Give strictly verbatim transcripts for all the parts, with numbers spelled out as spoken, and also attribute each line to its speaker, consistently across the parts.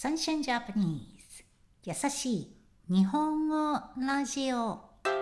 Speaker 1: Sunshine Japanese 優しい日本語ラジオ。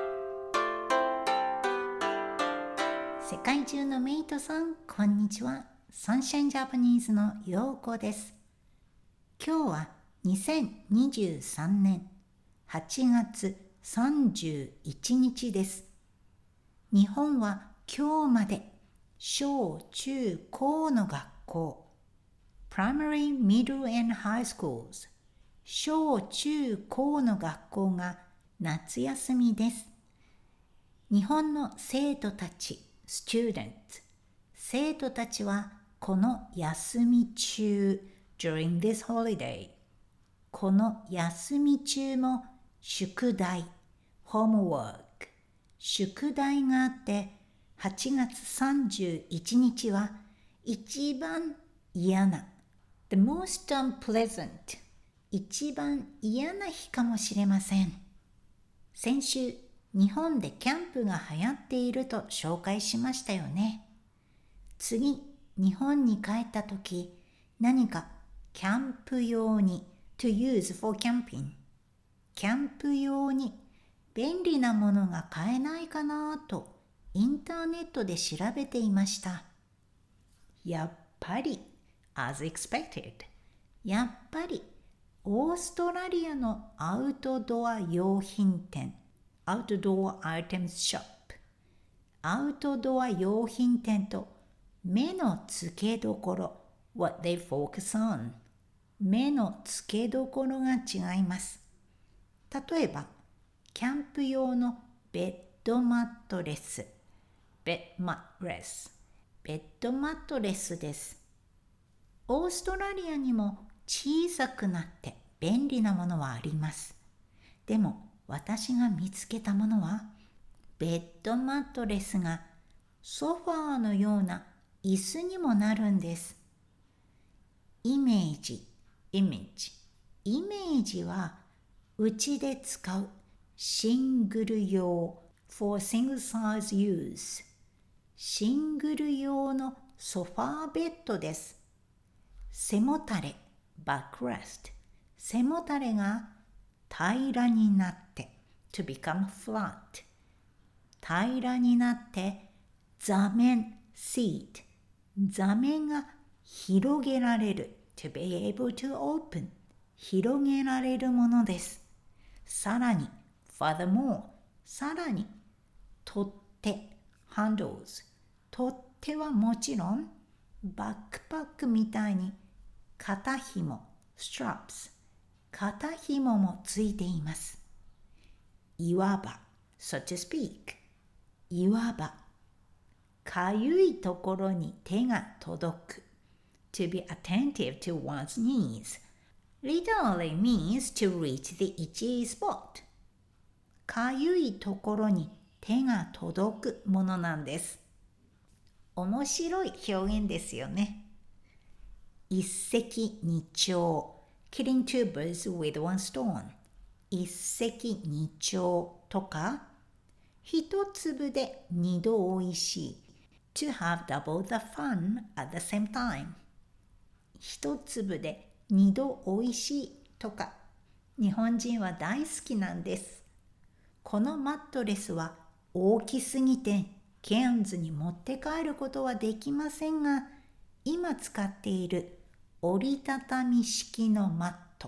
Speaker 1: 世界中のメイトさん、こんにちは。Sunshine Japanese のようこです。今日はにせんにじゅうさんねんはちがつさんじゅういちにちです。日本は今日まで小中高の学校Primary, Middle and High Schools 小中高の学校が夏休みです。日本の生徒たち Students 生徒たちはこの休み中 During this holiday この休み中も宿題 Homework 宿題があってはちがつさんじゅういちにちは一番嫌なThe most unpleasant 一番嫌な日かもしれません。先週日本でキャンプが流行っていると紹介しましたよね。次日本に帰った時何かキャンプ用に to use for camping キャンプ用に便利なものが買えないかなとインターネットで調べていました。やっぱりAs expected やっぱりオーストラリアのアウトドア用品店 Outdoor Items Shop アウトドア用品店と目の付けどころ What they focus on 目の付けどころが違います。例えばキャンプ用のベッドマットレスベッドマットレスベッドマットレスです。オーストラリアにも小さくなって便利なものはあります。でも私が見つけたものはベッドマットレスがソファーのような椅子にもなるんです。イメージ、イメージ、イメージはうちで使うシングル用 for single size use シングル用のソファーベッドです。背もたれ、バックレスト。背もたれが平らになって、to become flat。平らになって、座面、seat。座面が広げられる、to be able to open。広げられるものです。さらに、furthermore。さらに、取っ手、handles。取っ手はもちろん、バックパックみたいに、肩紐 straps 肩紐もついています。いわば so to speak いわばかゆいところに手が届く to be attentive to one's needs literally means to reach the itchy spot かゆいところに手が届くものなんです。面白い表現ですよね。一石二鳥 killing two birds with one stone 一石二鳥とか一粒で二度おいしい to have double the fun at the same time 一粒で二度おいしいとか日本人は大好きなんです。このマットレスは大きすぎてケアンズに持って帰ることはできませんが今使っている折りたたみ式のマット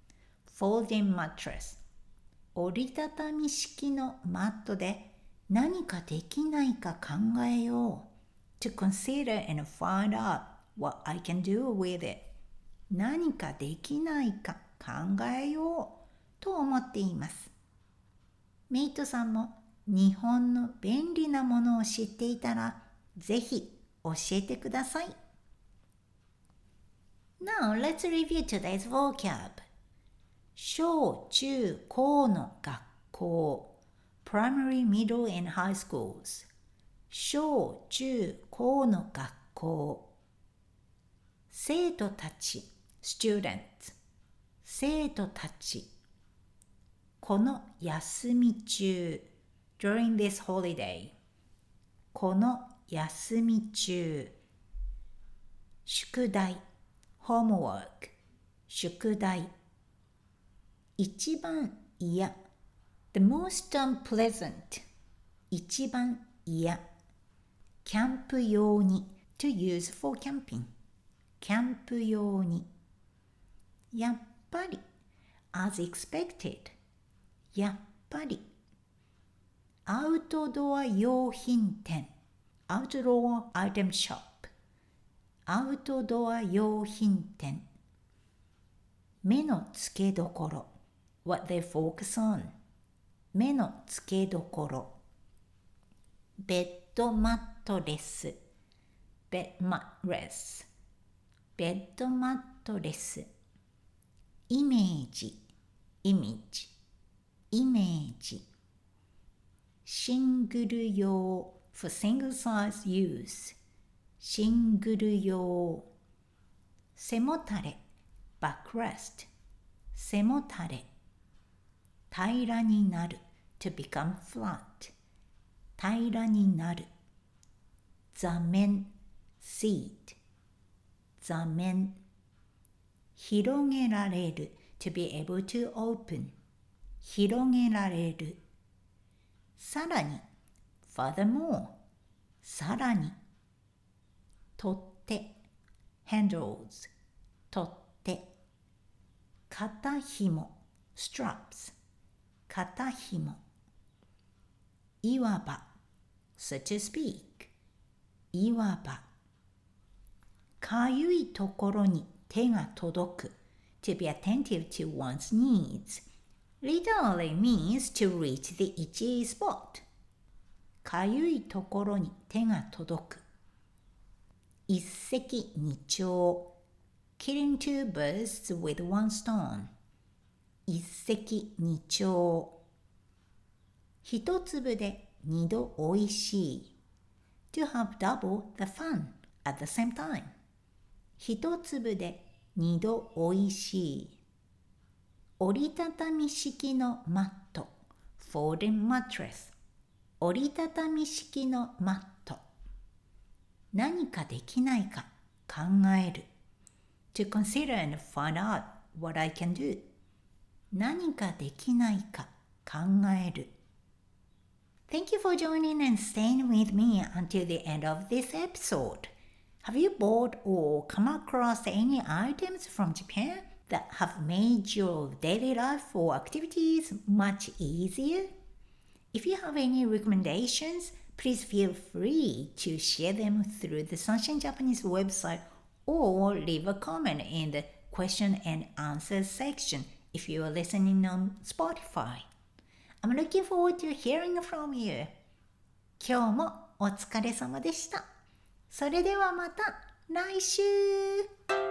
Speaker 1: Folding mattress 折りたたみ式のマットで何かできないか考えよう To consider and find out what I can do with it 何かできないか考えようと思っています。メイトさんも日本の便利なものを知っていたらぜひ教えてください。Now let's review today's vocab. 小中高の学校 Primary, Middle and High Schools 小中高の学校生徒たち Students 生徒たちこの休み中 During this holiday この休み中宿題 Homework 宿題。一番嫌。The most unpleasant。一番嫌。キャンプ用に。To use for camping。キャンプ用に。やっぱり。As expected。やっぱり。アウトドア用品店。Outdoor item shop。アウトドア用品店。目の付けどころ。What they focus on。目の付けどころ。ベッドマットレス。ベッドマットレス。ベッドマットレス。イメージ。イメージ。イメージ。シングル用。For single size use。シングル用。背もたれ。backrest。背もたれ。平らになる。to become flat。平らになる。座面。seat。座面。広げられる。to be able to open。広げられる。さらに。furthermore。さらに。取っ手。handles。取っ手。肩紐。straps。肩紐。いわば。so to speak。いわば。かゆいところに手が届く。to be attentive to one's needs。literally means to reach the itchy spot。かゆいところに手が届く。一石二鳥。killing two birds with one stone。一石二鳥。一粒で二度おいしい。to have double the fun at the same time。一粒で二度おいしい。折りたたみ式のマット。folding mattress。折りたたみ式のマット。何かできないか考える。to consider and find out what I can do。何かできないか考える。Thank you for joining and staying with me until the end of this episode. Have you bought or come across any items from Japan that have made your daily life or activities much easier? If you have any recommendations, please feel free to share them through the Sunshine Japanese website or leave a comment in the question and answer section if you are listening on Spotify. I'm looking forward to hearing from you. 今日もお疲れ様でした。それではまた来週。